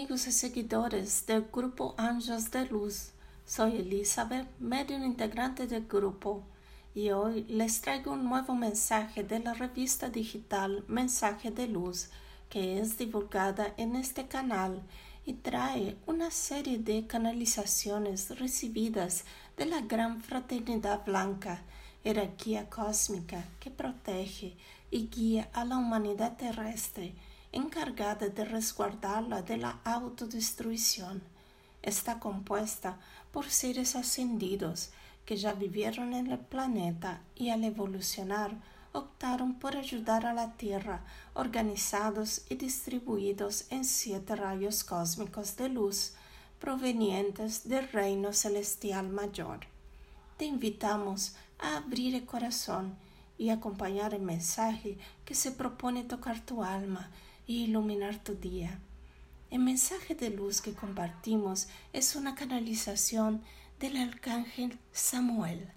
amigos y seguidores del grupo Anjos de Luz. Soy Elizabeth, medium integrante del grupo, y hoy les traigo un nuevo mensaje de la revista digital Mensaje de Luz, que es divulgada en este canal y trae una serie de canalizaciones recibidas de la Gran Fraternidad Blanca, jerarquía cósmica que protege y guía a la humanidad terrestre, encargada de resguardarla de la autodestrucción. Está compuesta por seres ascendidos que ya vivieron en el planeta y al evolucionar optaron por ayudar a la Tierra, organizados y distribuidos en 7 rayos cósmicos de luz provenientes del Reino Celestial Mayor. Te invitamos a abrir el corazón y acompañar el mensaje que se propone tocar tu alma y iluminar tu día. El mensaje de luz que compartimos es una canalización del Arcángel Samuel.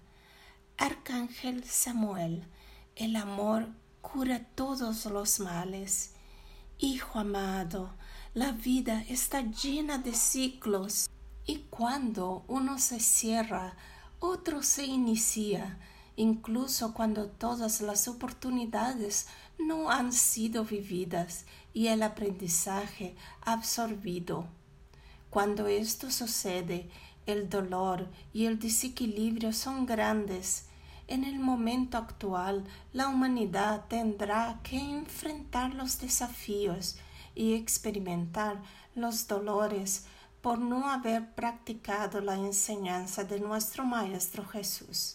Arcángel Samuel, el amor cura todos los males. Hijo amado, la vida está llena de ciclos y cuando uno se cierra, otro se inicia, incluso cuando todas las oportunidades no han sido vividas y el aprendizaje absorbido. Cuando esto sucede, el dolor y el desequilibrio son grandes. En el momento actual, la humanidad tendrá que enfrentar los desafíos y experimentar los dolores por no haber practicado la enseñanza de nuestro Maestro Jesús.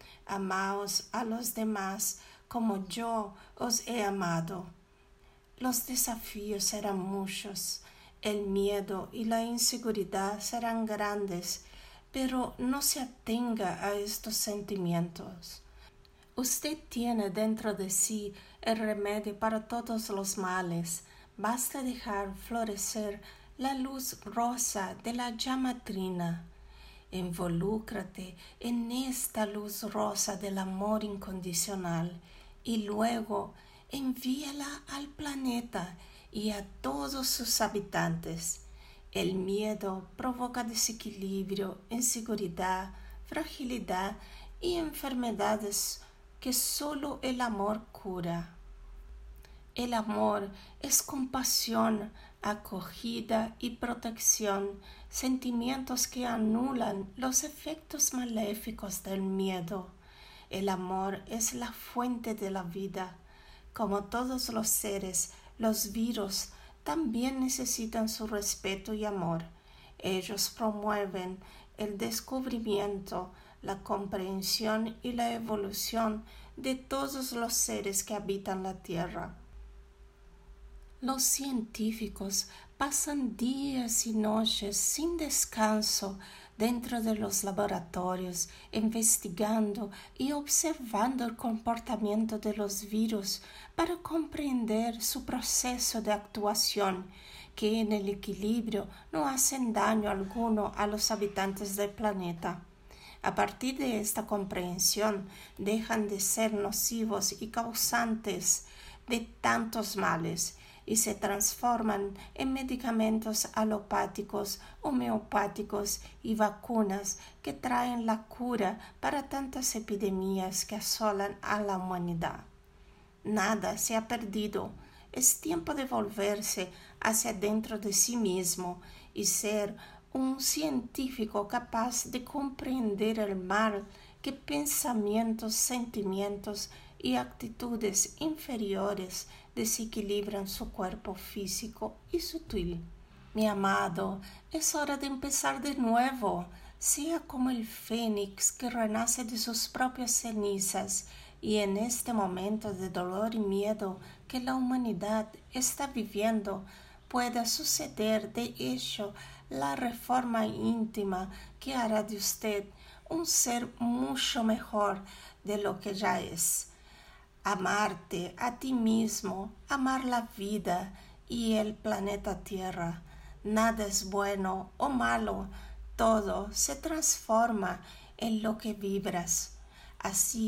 Amaos a los demás como yo os he amado. Los desafíos serán muchos, el miedo y la inseguridad serán grandes, pero no se atenga a estos sentimientos. Usted tiene dentro de sí el remedio para todos los males. Basta dejar florecer la luz rosa de la llama trina. Involúcrate en esta luz rosa del amor incondicional y luego envíala al planeta y a todos sus habitantes. El miedo provoca desequilibrio, inseguridad, fragilidad y enfermedades que solo el amor cura. El amor es compasión, acogida y protección, sentimientos que anulan los efectos maléficos del miedo. El amor es la fuente de la vida. Como todos los seres, los virus también necesitan su respeto y amor. Ellos promueven el descubrimiento, la comprensión y la evolución de todos los seres que habitan la Tierra. Los científicos pasan días y noches sin descanso dentro de los laboratorios, investigando y observando el comportamiento de los virus para comprender su proceso de actuación, que en el equilibrio no hacen daño alguno a los habitantes del planeta. A partir de esta comprensión, dejan de ser nocivos y causantes de tantos males, y se transforman en medicamentos alopáticos, homeopáticos y vacunas que traen la cura para tantas epidemias que asolan a la humanidad. Nada se ha perdido. Es tiempo de volverse hacia dentro de sí mismo y ser un científico capaz de comprender el mal que pensamientos, sentimientos y actitudes inferiores desequilibran su cuerpo físico y sutil. Mi amado, es hora de empezar de nuevo. Sea como el fénix que renace de sus propias cenizas, y en este momento de dolor y miedo que la humanidad está viviendo, pueda suceder de hecho la reforma íntima que hará de usted un ser mucho mejor de lo que ya es. Amarte a ti mismo, amar la vida y el planeta Tierra. Nada es bueno o malo, todo se transforma en lo que vibras. Así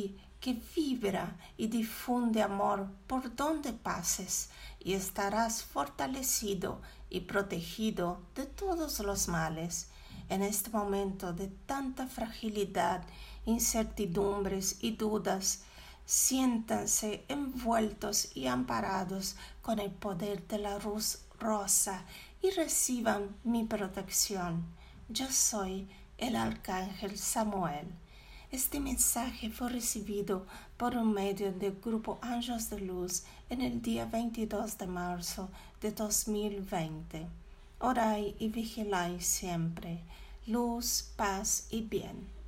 que vibra y difunde amor por donde pases, y estarás fortalecido y protegido de todos los males. En este momento de tanta fragilidad, incertidumbres y dudas, siéntanse envueltos y amparados con el poder de la luz rosa y reciban mi protección. Yo soy el Arcángel Samuel. Este mensaje fue recibido por un medio del grupo Ángeles de Luz en el día 22 de marzo de 2020. Orai y vigiláis siempre. Luz, paz y bien.